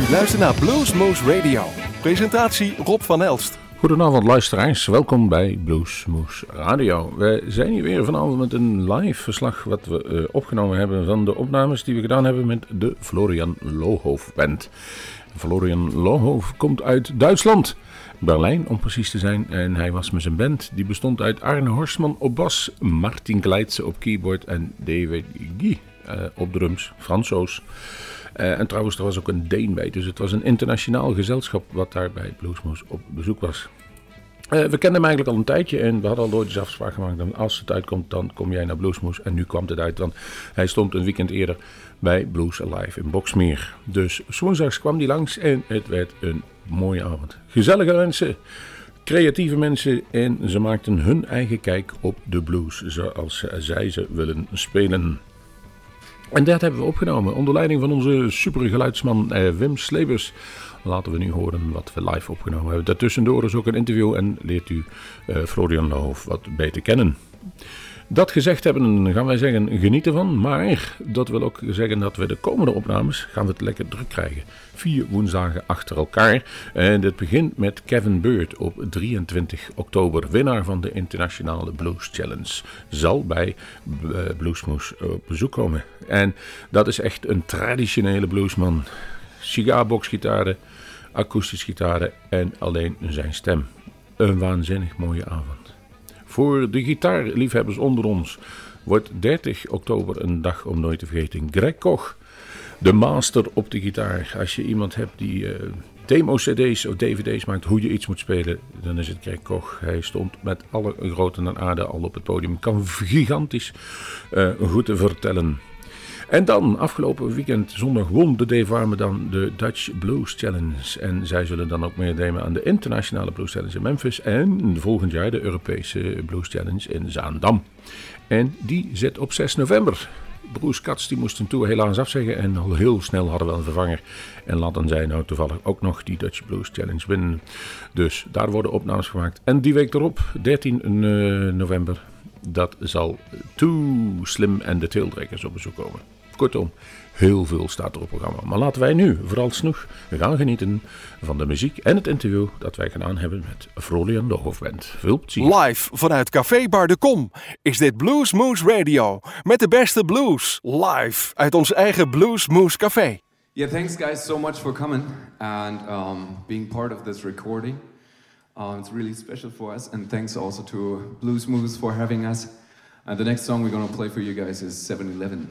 U luistert naar Bluesmoose Radio. Presentatie Rob van Elst. Goedenavond luisteraars, welkom bij Bluesmoose Radio. Wij zijn hier weer vanavond met een live verslag wat we opgenomen hebben van de opnames die we gedaan hebben met de Florian Lohoff Band. Florian Lohoff komt uit Duitsland, Berlijn om precies te zijn. En hij was met zijn band, die bestond uit Arne Horstman op bas, Martin Kleitse op keyboard en David Guy op drums, Fransoos. En trouwens, er was ook een Deen bij, dus het was een internationaal gezelschap wat daar bij Bluesmoose op bezoek was. We kenden hem eigenlijk al een tijdje en we hadden al ooit eens afspraak gemaakt dat als het uitkomt, dan kom jij naar Bluesmoose. En nu kwam het uit, want hij stond een weekend eerder bij Blues Alive in Boxmeer. Dus 's woensdags kwam hij langs en het werd een mooie avond. Gezellige mensen, creatieve mensen en ze maakten hun eigen kijk op de blues zoals zij ze willen spelen. En dat hebben we opgenomen onder leiding van onze supergeluidsman Wim Slebers. Laten we nu horen wat we live opgenomen hebben. Daartussendoor is ook een interview en leert u Florian Lohoff wat beter kennen. Dat gezegd hebben, gaan wij zeggen, geniet ervan. Maar dat wil ook zeggen dat we de komende opnames gaan we het lekker druk krijgen. 4 woensdagen achter elkaar. En dit begint met Kevin Bird op 23 oktober. Winnaar van de Internationale Blues Challenge. Zal bij Bluesmoose op bezoek komen. En dat is echt een traditionele bluesman. Cigarboxgitaren, akoestische gitaren en alleen zijn stem. Een waanzinnig mooie avond. Voor de gitaarliefhebbers onder ons wordt 30 oktober een dag om nooit te vergeten. Greg Koch, de master op de gitaar. Als je iemand hebt die demo-cd's of dvd's maakt hoe je iets moet spelen, dan is het Greg Koch. Hij stond met alle groten en aarde al op het podium. Kan gigantisch goed vertellen. En dan, afgelopen weekend, zondag, won de Dave Warmerdam de Dutch Blues Challenge. En zij zullen dan ook meedemen aan de Internationale Blues Challenge in Memphis. En volgend jaar de Europese Blues Challenge in Zaandam. En die zit op 6 november. Bruce Katz die moest een tour helaas afzeggen en al heel snel hadden we een vervanger. En laten zij nou toevallig ook nog die Dutch Blues Challenge winnen. Dus daar worden opnames gemaakt. En die week erop, 13 november, dat zal Too Slim en de Taildraggers op bezoek komen. Kortom, heel veel staat er op het programma. Maar laten wij nu vooralsnog gaan genieten van de muziek en het interview dat wij gedaan hebben met Florian Lohoff Band. Veel plezier. Live vanuit Café Bar de Kom is dit Bluesmoose Radio. Met de beste blues. Live uit ons eigen Bluesmoose Café. Yeah, thanks guys so much for coming and being part of this recording. It's really special for us, and thanks also to Bluesmoose for having us. And the next song we're going to play for you guys is 7-Eleven.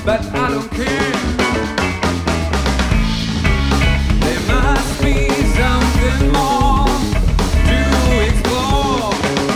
but I don't care. There must be something more to explore.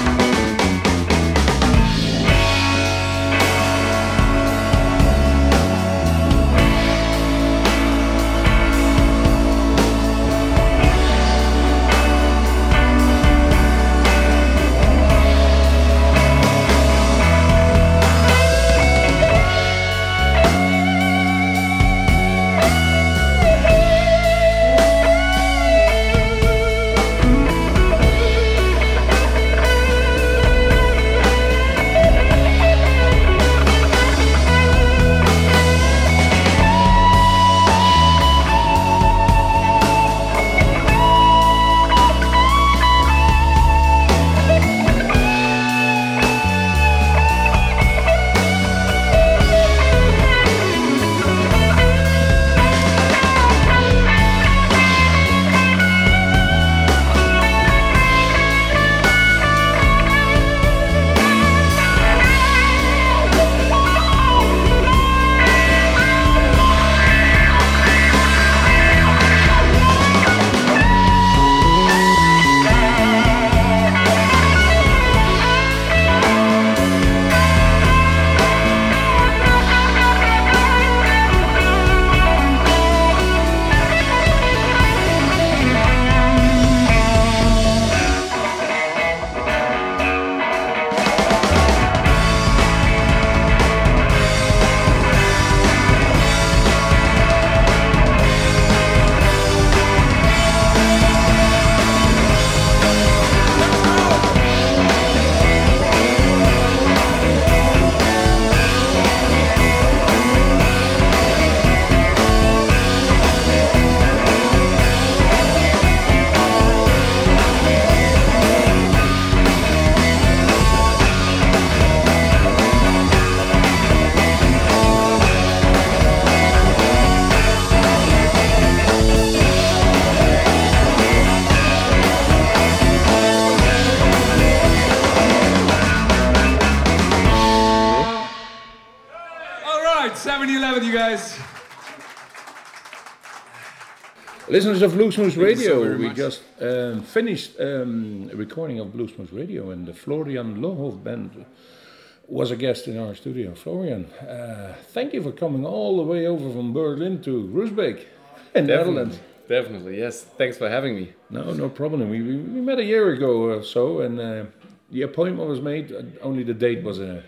Listeners of Blues Moose Radio, so we much. just finished a recording of Blues Moose Radio, and the Florian Lohof Band was a guest in our studio. Florian, thank you for coming all the way over from Berlin to Groesbeek in the Netherlands. Definitely, yes. Thanks for having me. No problem. We met a year ago or so, and the appointment was made. Only the date was a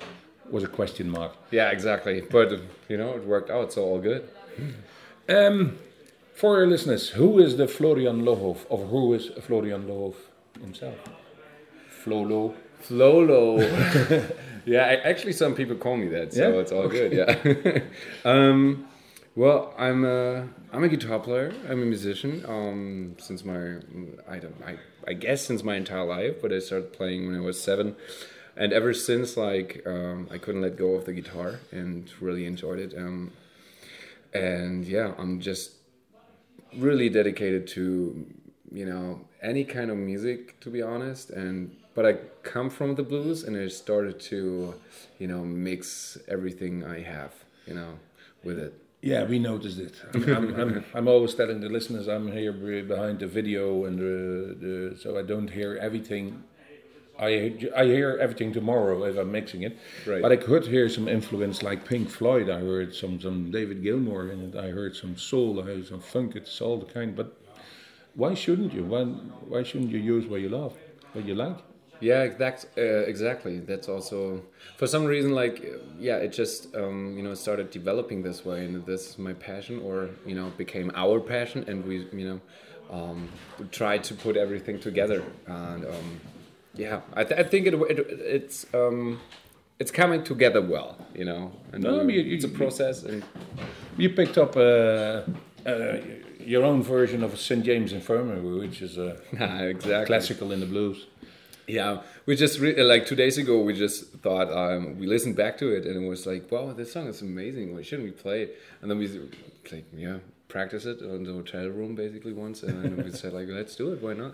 question mark. Yeah, exactly. But, it worked out, so all good. For our listeners, who is the Florian Lohof, or who is Florian Lohof himself? Flolo. Yeah, actually some people call me that, so Yeah? it's all Okay. good, yeah. Well, I'm a guitar player. I'm a musician. Since I guess since my entire life, but I started playing when I was 7. And ever since, I couldn't let go of the guitar and really enjoyed it. And yeah, I'm just really dedicated to, any kind of music, to be honest. But I come from the blues, and I started to, mix everything I have, with it. Yeah, we noticed it. I'm always telling the listeners I'm here behind the video, and so I don't hear everything. I hear everything tomorrow if I'm mixing it. Right. But I could hear some influence like Pink Floyd. I heard some David Gilmour in it. I heard some soul. I heard some funk. It's all the kind. But why shouldn't you? Why shouldn't you use what you love, what you like? Yeah, exactly. That's also, for some reason, it just, started developing this way, and this is my passion, or, became our passion, and we, tried to put everything together, and, I think it's coming together well, and it's a process. And you picked up your own version of St. James Infirmary, which is exactly classical in the blues. Yeah, we just 2 days ago we just thought we listened back to it, and it was like, wow, this song is amazing. Why shouldn't we play it? And then we practice it in the hotel room basically once, and then we said let's do it. Why not?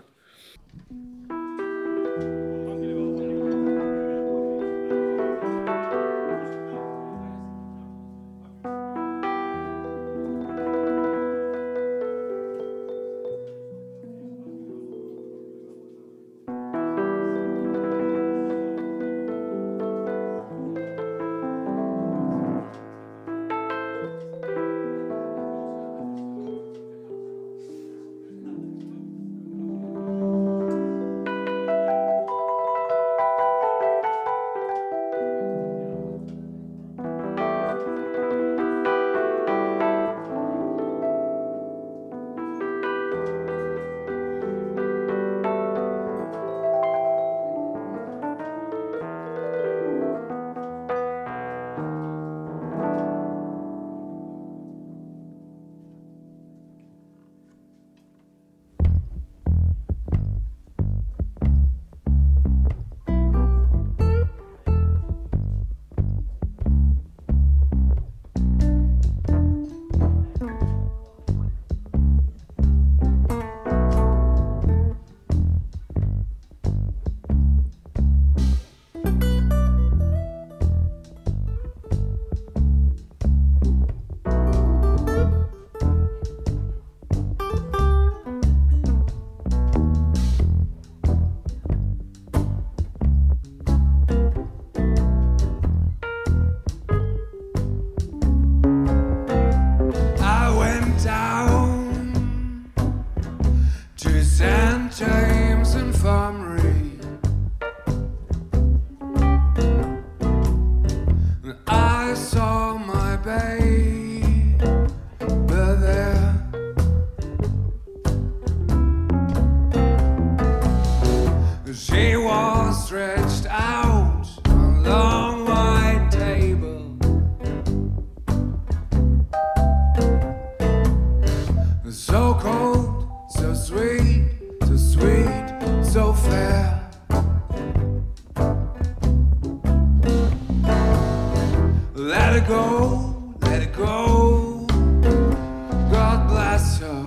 let it go. God bless her.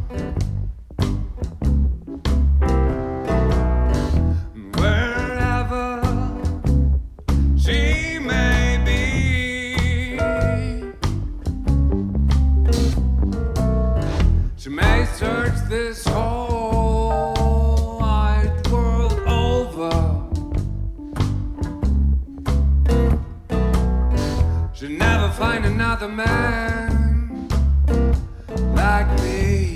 Wherever she may be, she may search this whole wide world over. She'll never find another man like me.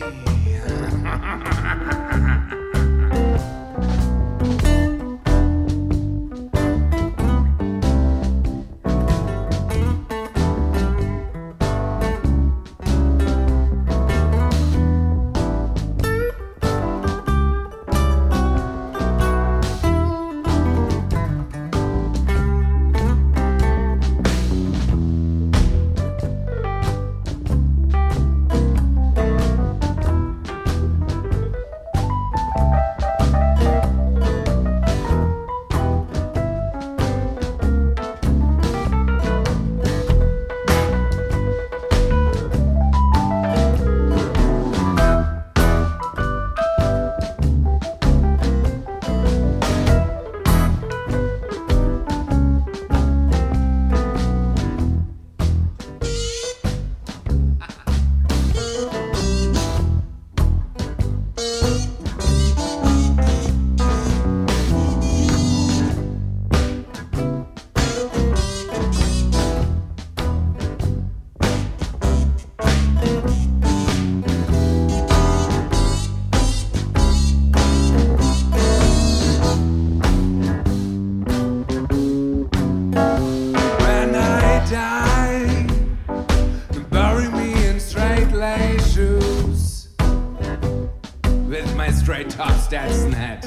Straight top stats net.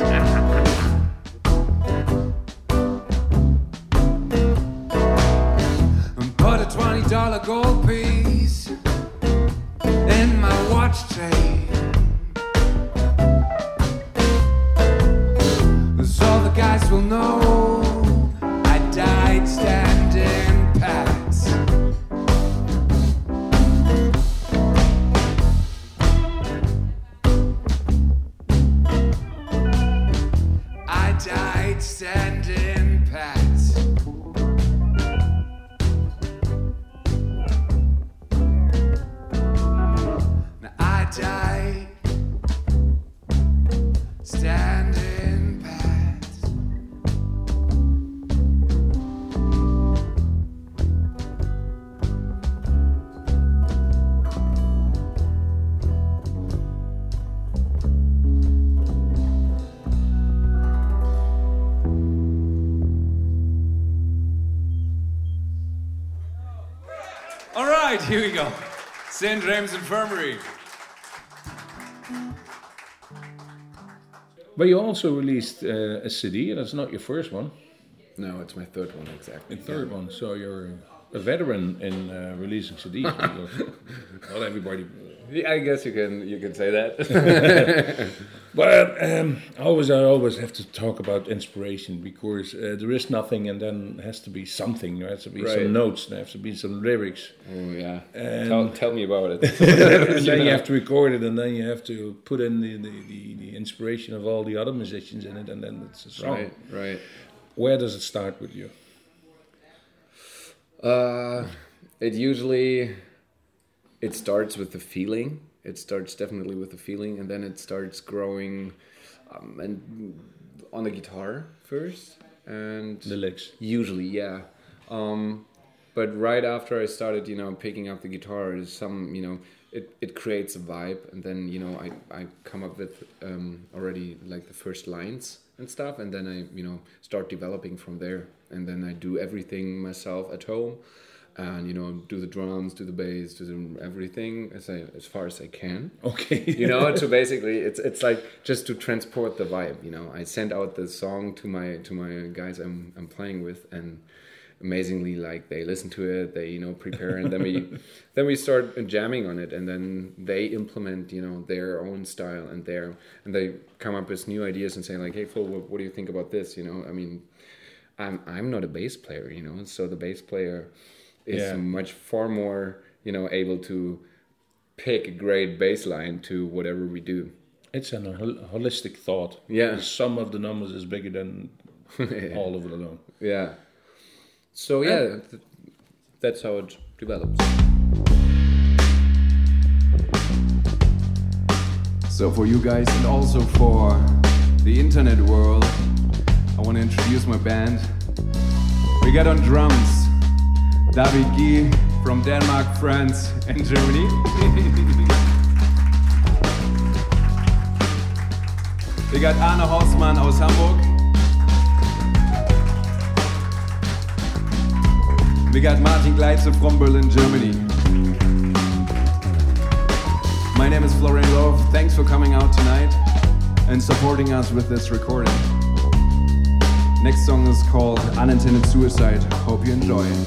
And put a $20 gold piece in my watch chain, so the guys will know I died standing pat. Died standing pat. Now I died standing pat. All right, here we go. St. James Infirmary. But you also released a CD, and that's not your first one. No, it's my third one, exactly. The third one, so you're a veteran in releasing CDs. Not everybody. Yeah, I guess you can say that. But I always have to talk about inspiration, because there is nothing, and then has to be something. There has to be some notes. There has to be some lyrics. Oh yeah. Tell me about it. And then you have to record it, and then you have to put in the inspiration of all the other musicians in it, and then it's a song. Right. Where does it start with you? It starts with the feeling. It starts definitely with the feeling, and then it starts growing, and on the guitar first, and The licks. Usually, yeah. But right after I started, picking up the guitar, it creates a vibe, and then I come up with already like the first lines and stuff, and then I start developing from there, and then I do everything myself at home. And do the drums, do the bass, do everything as far as I can. Okay. So basically, it's like just to transport the vibe. I send out the song to my guys I'm playing with, and amazingly, like, they listen to it, they prepare, and then we start jamming on it, and then they implement their own style, and they come up with new ideas and say like, hey Phil, what do you think about this? I mean, I'm not a bass player, so the bass player is much far more, able to pick a great bass line to whatever we do. It's a holistic thought. Yeah. The sum of the numbers is bigger than all of it alone. Yeah. So that's how it develops. So for you guys and also for the internet world, I want to introduce my band. We got on drums David Guy from Denmark, France and Germany. We got Arne Hausmann aus Hamburg. We got Martin Gleitze from Berlin, Germany. My name is Florian Loh. Thanks for coming out tonight and supporting us with this recording. Next song is called Unintended Suicide. Hope you enjoy it.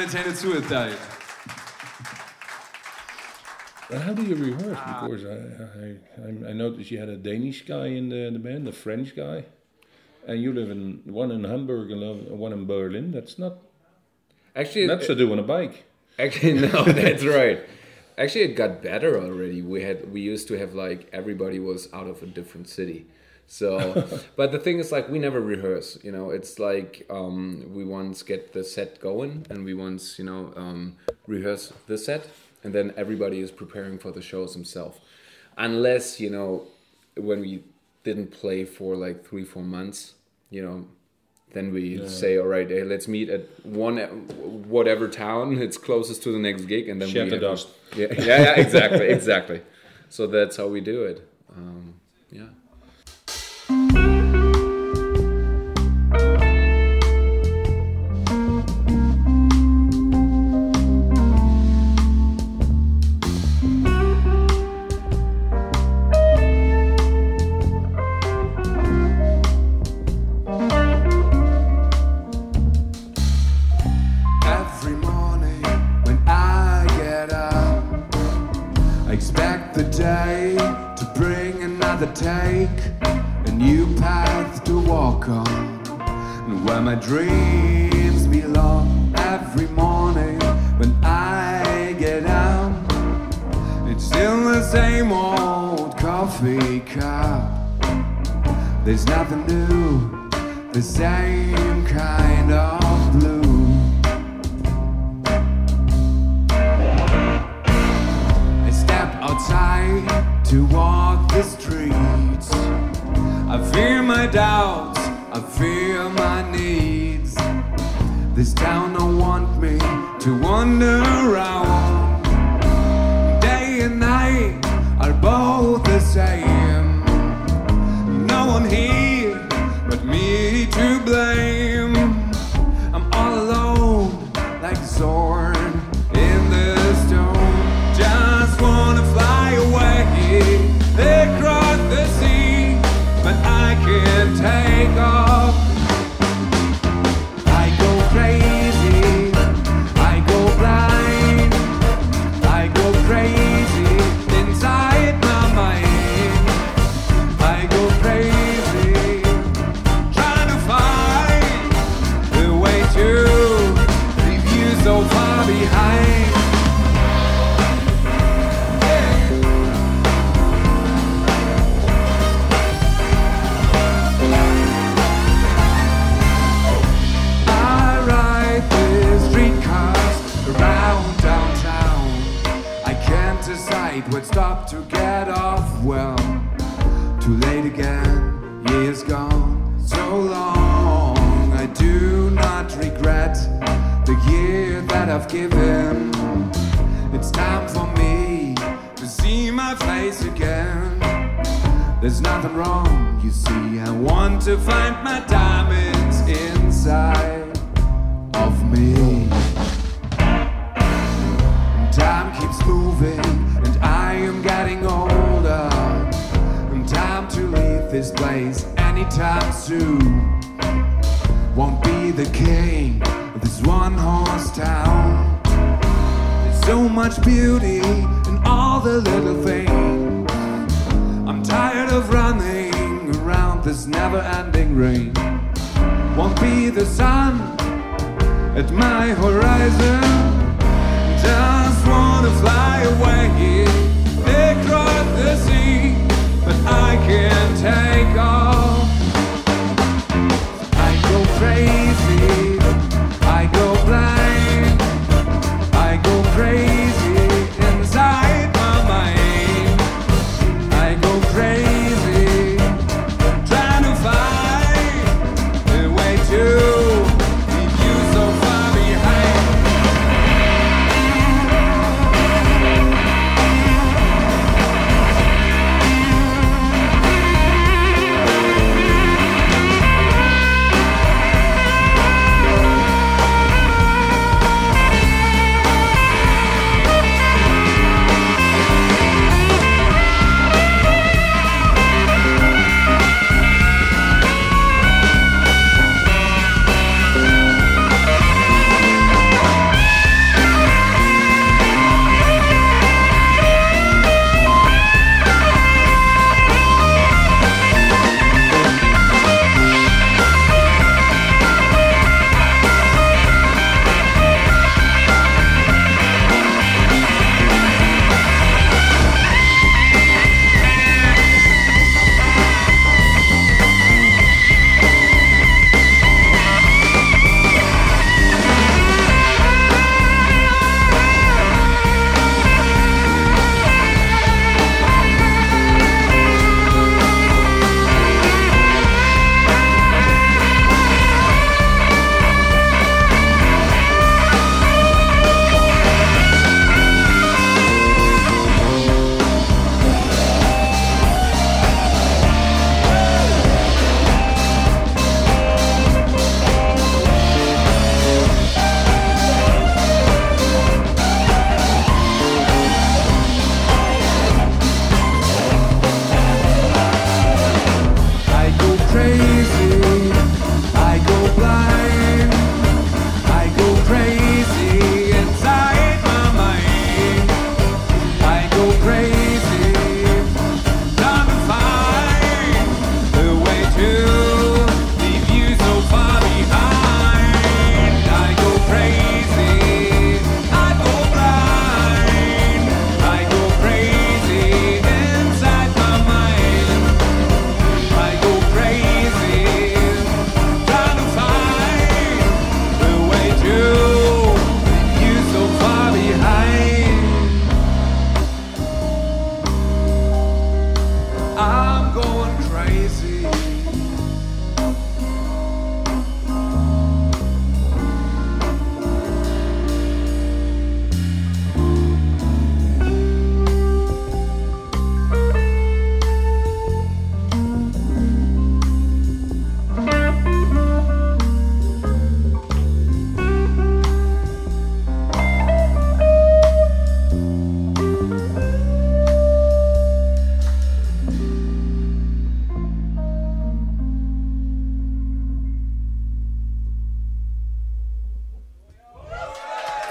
attended suicide. But how do you rehearse? Because I noticed you had a Danish guy in the band, a French guy, and you live in one in Hamburg and one in Berlin. That's not to do on a bike. Actually, no, that's right. Actually, it got better already. We used to have like everybody was out of a different city. So, but the thing is, like, we never rehearse. You know, it's like we once get the set going, and we once rehearse the set. And then everybody is preparing for the shows themselves. Unless, when we didn't play for like 3-4 months, then we say, all right, hey, let's meet at whatever town it's closest to the next gig. And then Shed the dust. Yeah, exactly. So that's how we do it. Yeah. Take a new path to walk on, and where my dreams belong. Every morning when I get out, it's still the same old coffee cup. There's nothing new, the same kind of blue. I step outside to walk the streets. I fear my doubts, I fear my needs. This town don't want me to wander around. Day and night are both the same. No one here but me to blame. I'm all alone like a sword in the stone. Just wanna fly away across the sea, but I can't take off. I go crazy, I go blind, I go crazy inside my mind. I go crazy, trying to find the way to leave you so far behind. Would stop to get off. Well, too late again, years gone so long. I do not regret the year that I've given. It's time for me to see my face again. There's nothing wrong, you see. I want to find my diamonds inside of me. Time keeps moving, and I am getting older. And time to leave this place anytime soon. Won't be the king of this one-horse town. There's so much beauty in all the little things. I'm tired of running around this never-ending rain. Won't be the sun at my horizon. Just wanna fly away across the sea, but I can't take off. I go crazy, I go blind, I go crazy inside my mind. I go crazy, trying to find the way to leave you so far behind.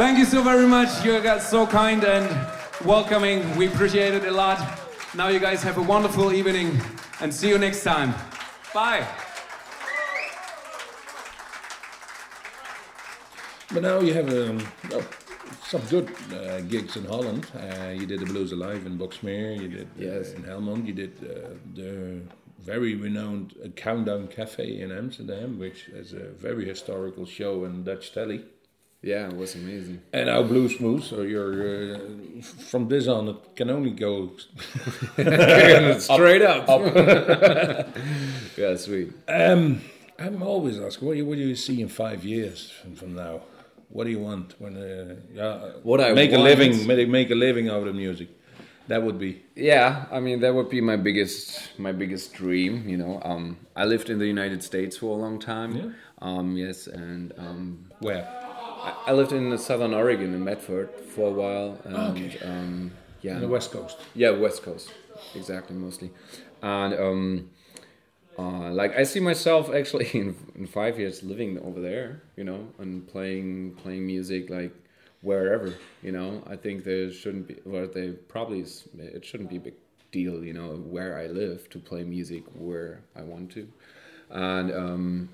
Thank you so very much. You guys so kind and welcoming. We appreciate it a lot. Now you guys have a wonderful evening and see you next time. Bye. But now you have some good gigs in Holland. You did the Blues Alive in Boxmeer. You did in Helmond. You did the very renowned Countdown Cafe in Amsterdam, which is a very historical show in Dutch telly. Yeah, it was amazing. And now Blues Moose, so you're from this on, it can only go straight up. Yeah, sweet. I'm always asking, what do you see in 5 years from now? What do you want when what I make want? Make a living out of music? That would be. Yeah, I mean that would be my biggest dream. You know, I lived in the United States for a long time. Yeah. Yes, and where? I lived in Southern Oregon in Medford for a while. And, okay. Yeah. On the West Coast. Yeah, West Coast, exactly, mostly, and like I see myself actually in 5 years living over there, you know, and playing music like wherever, you know. I think there shouldn't be, well, it shouldn't be a big deal, you know, where I live to play music where I want to, and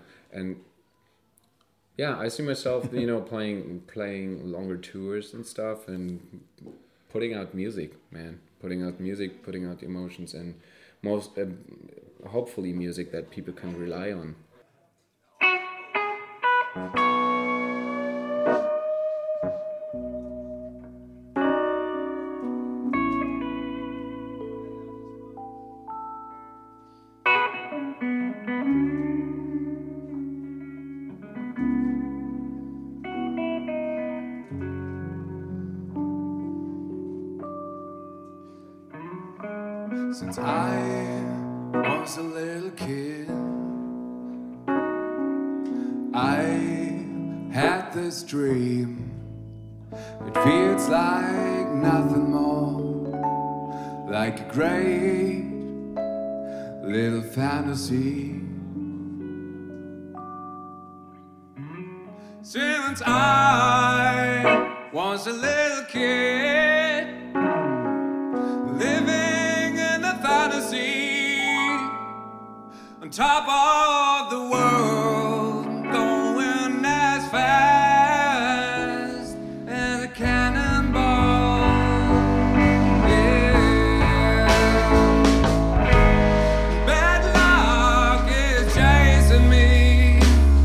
I see myself, you know, playing longer tours and stuff and putting out music, man, putting out emotions and most. Hopefully music that people can rely on. Since I was a little kid, I had this dream. It feels like nothing more, like a great little fantasy. Since I was a little kid, living in a fantasy, on top of the world, going as fast as a cannonball. Yeah. Bad luck is chasing me,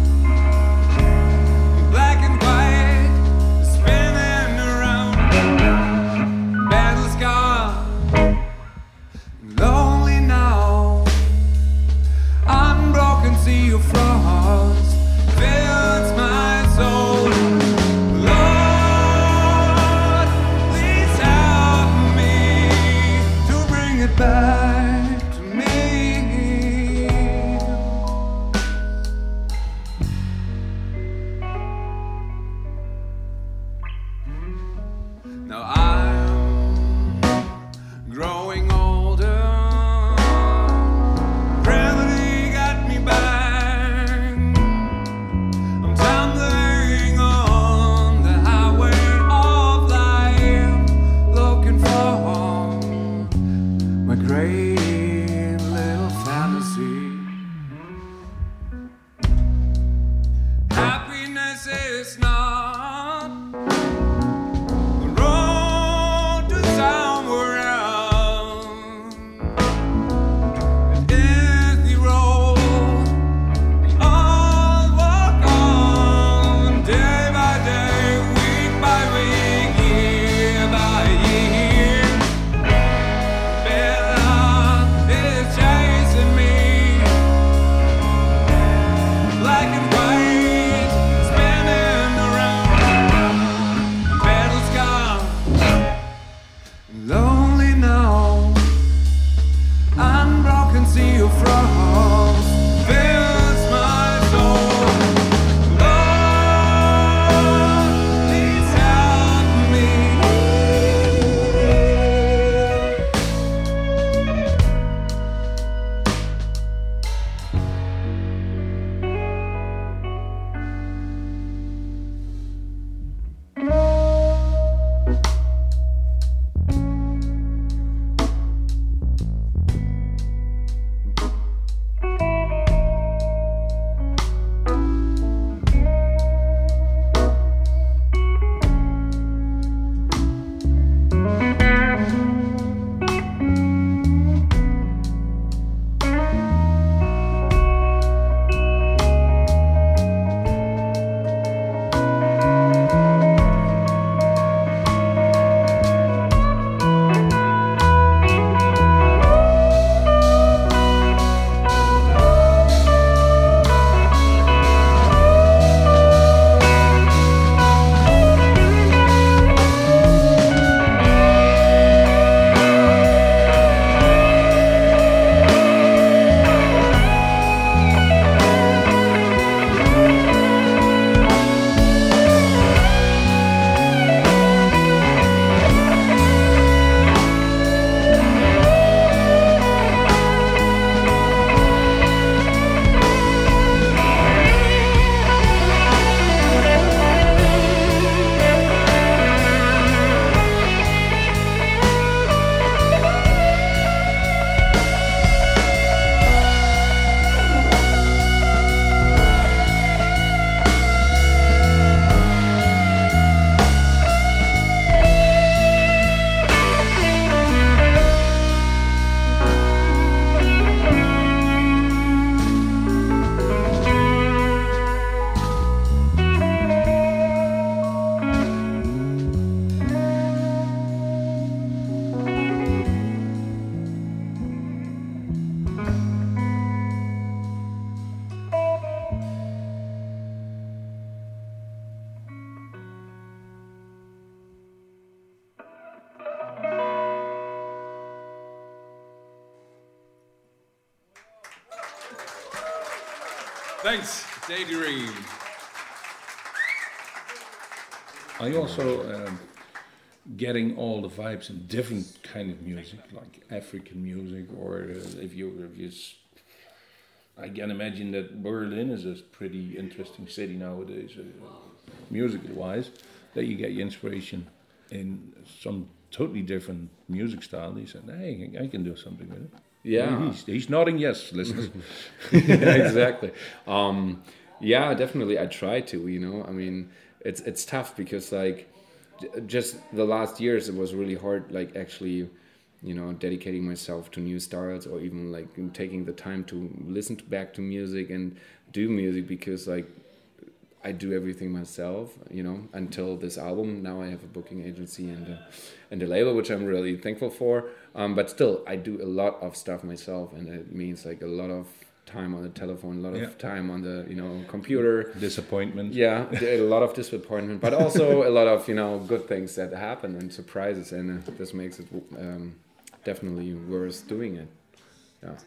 black and white, spinning around, battle scar, lonely now. Unbroken sea of frost. Thanks. Daydream. Are you also getting all the vibes in different kind of music, like African music, or if you I can imagine that Berlin is a pretty interesting city nowadays, musical-wise, that you get your inspiration in some totally different music style. He said, hey, I can do something with it. Yeah. He's nodding yes, listeners. Exactly. Yeah, definitely. I try to, I mean, it's tough because like just the last years it was really hard, like actually, dedicating myself to new styles or even like taking the time to listen back to music and do music, because like I do everything myself, until this album. Now I have a booking agency and a label, which I'm really thankful for. But still, I do a lot of stuff myself, and it means like a lot of time on the telephone, a lot of time on the computer. Disappointment. Yeah, a lot of disappointment, but also a lot of good things that happen and surprises, and this makes it definitely worth doing it. Yeah.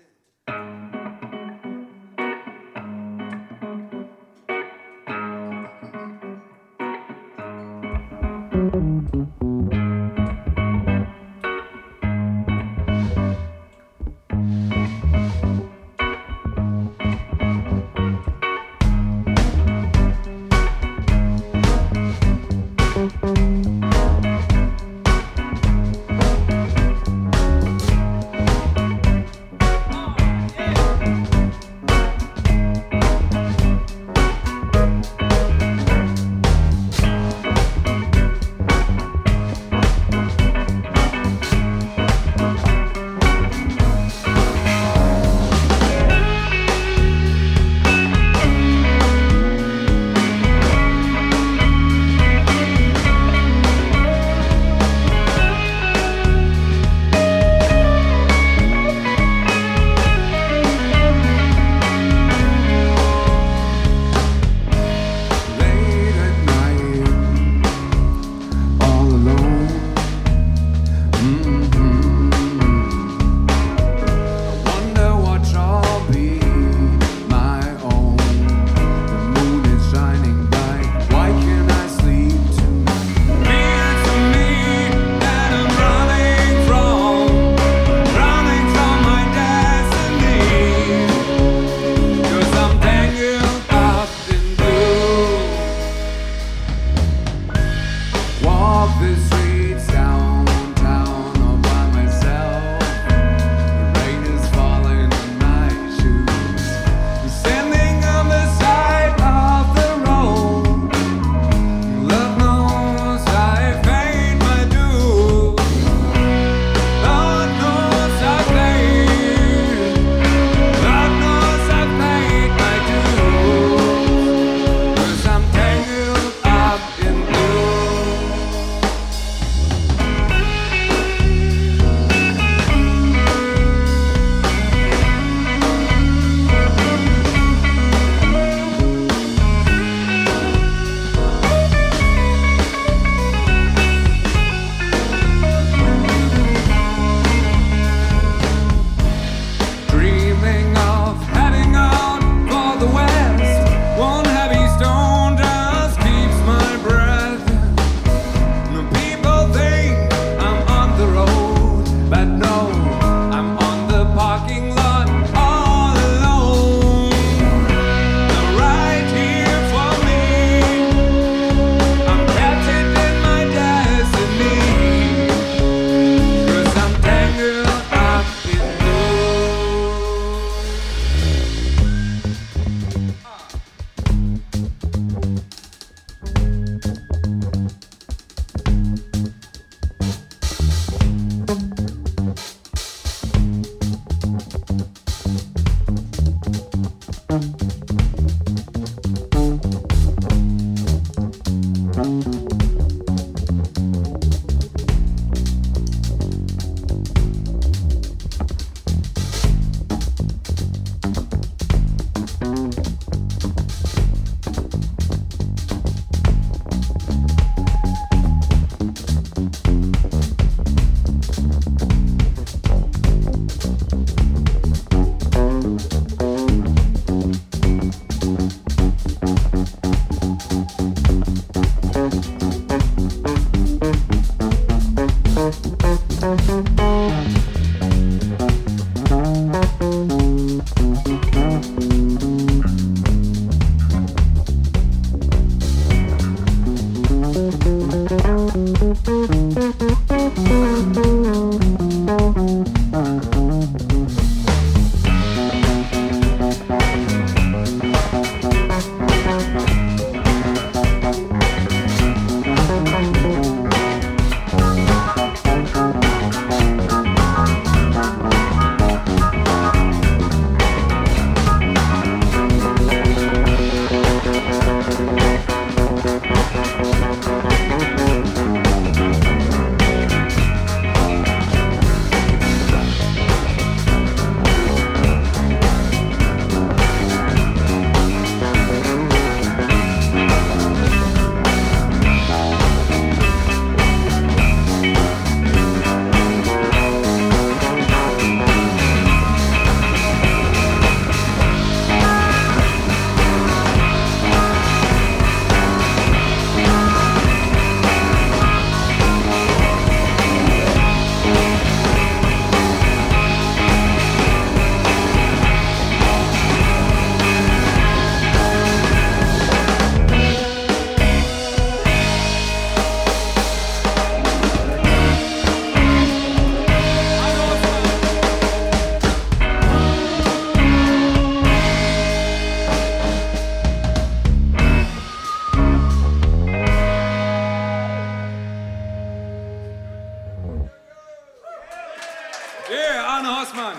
Yeah, Arne Hosman.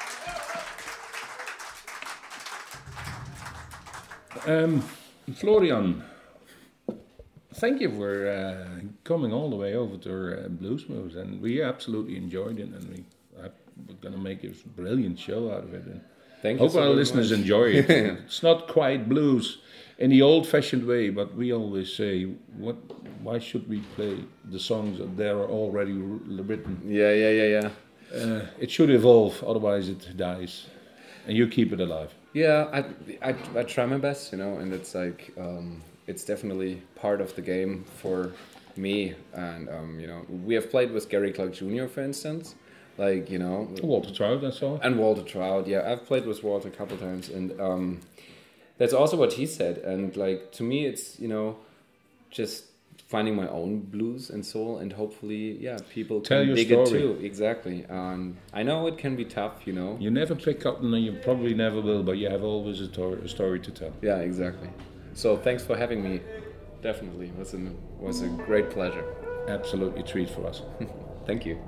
Florian, thank you for coming all the way over to Blues Moves, and we absolutely enjoyed it, and we're going to make a brilliant show out of it. And Thank you hope so our very listeners much. enjoy it. It's not quite blues in the old-fashioned way, but we always say, why should we play the songs that they are already written? Yeah. It should evolve, otherwise it dies, and you keep it alive. Yeah, I try my best, and it's like it's definitely part of the game for me. And we have played with Gary Clark Jr., for instance, Walter Trout, that's all. and Walter Trout. Yeah, I've played with Walter a couple times, and that's also what he said. And to me, it's just finding my own blues and soul, and hopefully, people Tell can your dig story. it too. Exactly. I know it can be tough, You never pick up, and you probably never will, but you have always a story to tell. Yeah, exactly. So thanks for having me. Definitely, was a great pleasure. Absolutely a treat for us. Thank you.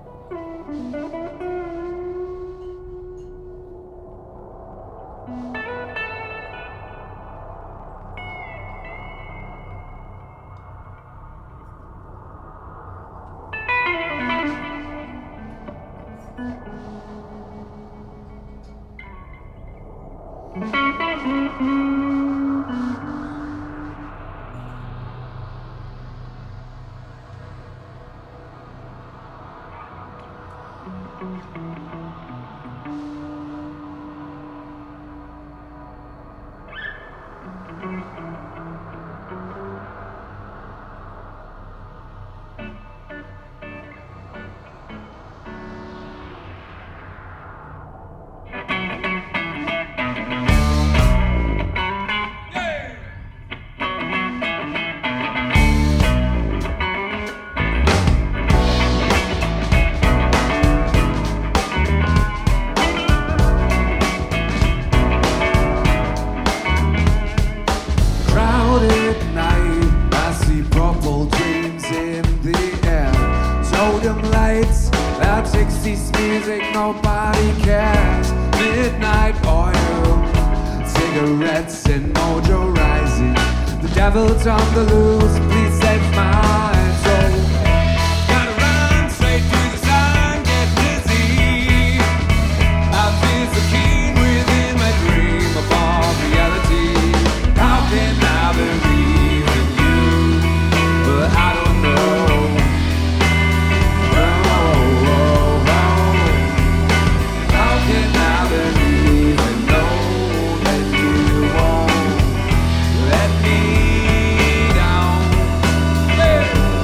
Devil's on the loose, please save my soul. Gotta run straight to the sun, get busy. I feel so keen within my dream upon reality. How can I believe in you? But I don't know. How can I believe and know that you won't let me down?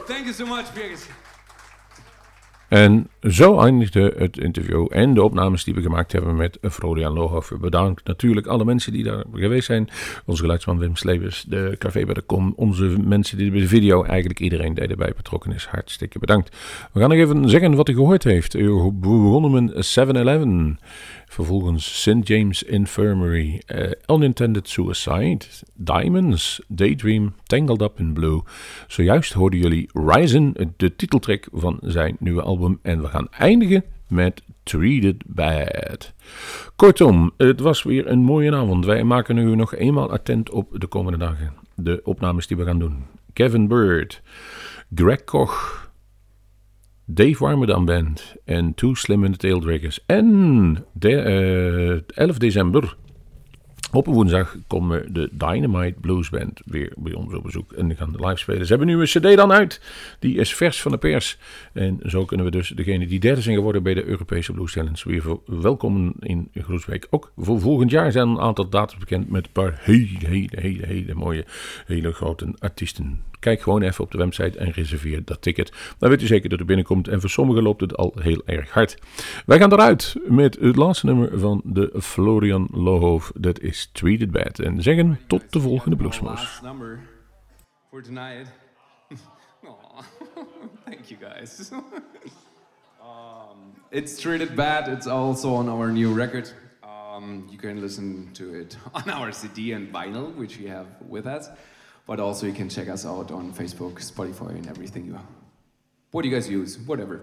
Thank you so much, Birgit. En zo eindigde het interview en de opnames die we gemaakt hebben met Florian Lohoff. Bedankt natuurlijk alle mensen die daar geweest zijn. Onze geluidsman Wim Slevers, de Café bij de Kom, onze mensen die bij de video, eigenlijk iedereen die erbij betrokken is. Hartstikke bedankt. We gaan nog even zeggen wat u gehoord heeft. We begonnen met 7-Eleven. Vervolgens St. James Infirmary, Unintended Suicide, Diamonds, Daydream, Tangled Up in Blue. Zojuist hoorden jullie Ryzen, de titeltrack van zijn nieuwe album. En we gaan eindigen met Treated Bad. Kortom, het was weer een mooie avond. Wij maken u nog eenmaal attent op de komende dagen. De opnames die we gaan doen. Kevin Bird, Greg Koch, Dave Warmerdam Band en Too Slim and the Taildraggers. En 11 december, op een woensdag, komen de Dynamite Blues Band weer bij ons op bezoek. En die gaan live spelen. Ze hebben nu een cd dan uit. Die is vers van de pers. En zo kunnen we dus degene die derde zijn geworden bij de Europese Blues Challenge weer welkomen in Groesbeek. Ook voor volgend jaar zijn een aantal datums bekend met een paar hele mooie, hele grote artiesten. Kijk gewoon even op de website en reserveer dat ticket. Dan weet u zeker dat u binnenkomt. En voor sommigen loopt het al heel erg hard. Wij gaan eruit met het laatste nummer van de Florian Lohoff. Dat is Treated Bad. En zeggen tot de volgende Bluesmoes. Last number for tonight. Thank you guys. It's Treated Bad. It's also on our new record. You can listen to it on our CD and vinyl, which we have with us. But also you can check us out on Facebook, Spotify, and everything. What do you guys use? Whatever.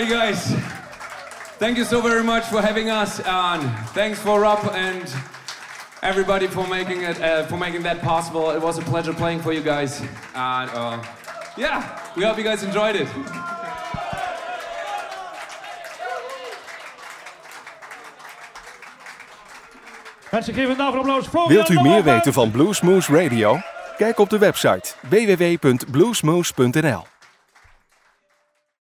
Alrighty, guys. Thank you so very much for having us, and thanks for Rob and everybody for making that possible. It was a pleasure playing for you guys, and yeah, we hope you guys enjoyed it. Mensen geven een applaus. Wilt u meer weten van Bluesmoose Radio? Kijk op de website www.bluesmoose.nl.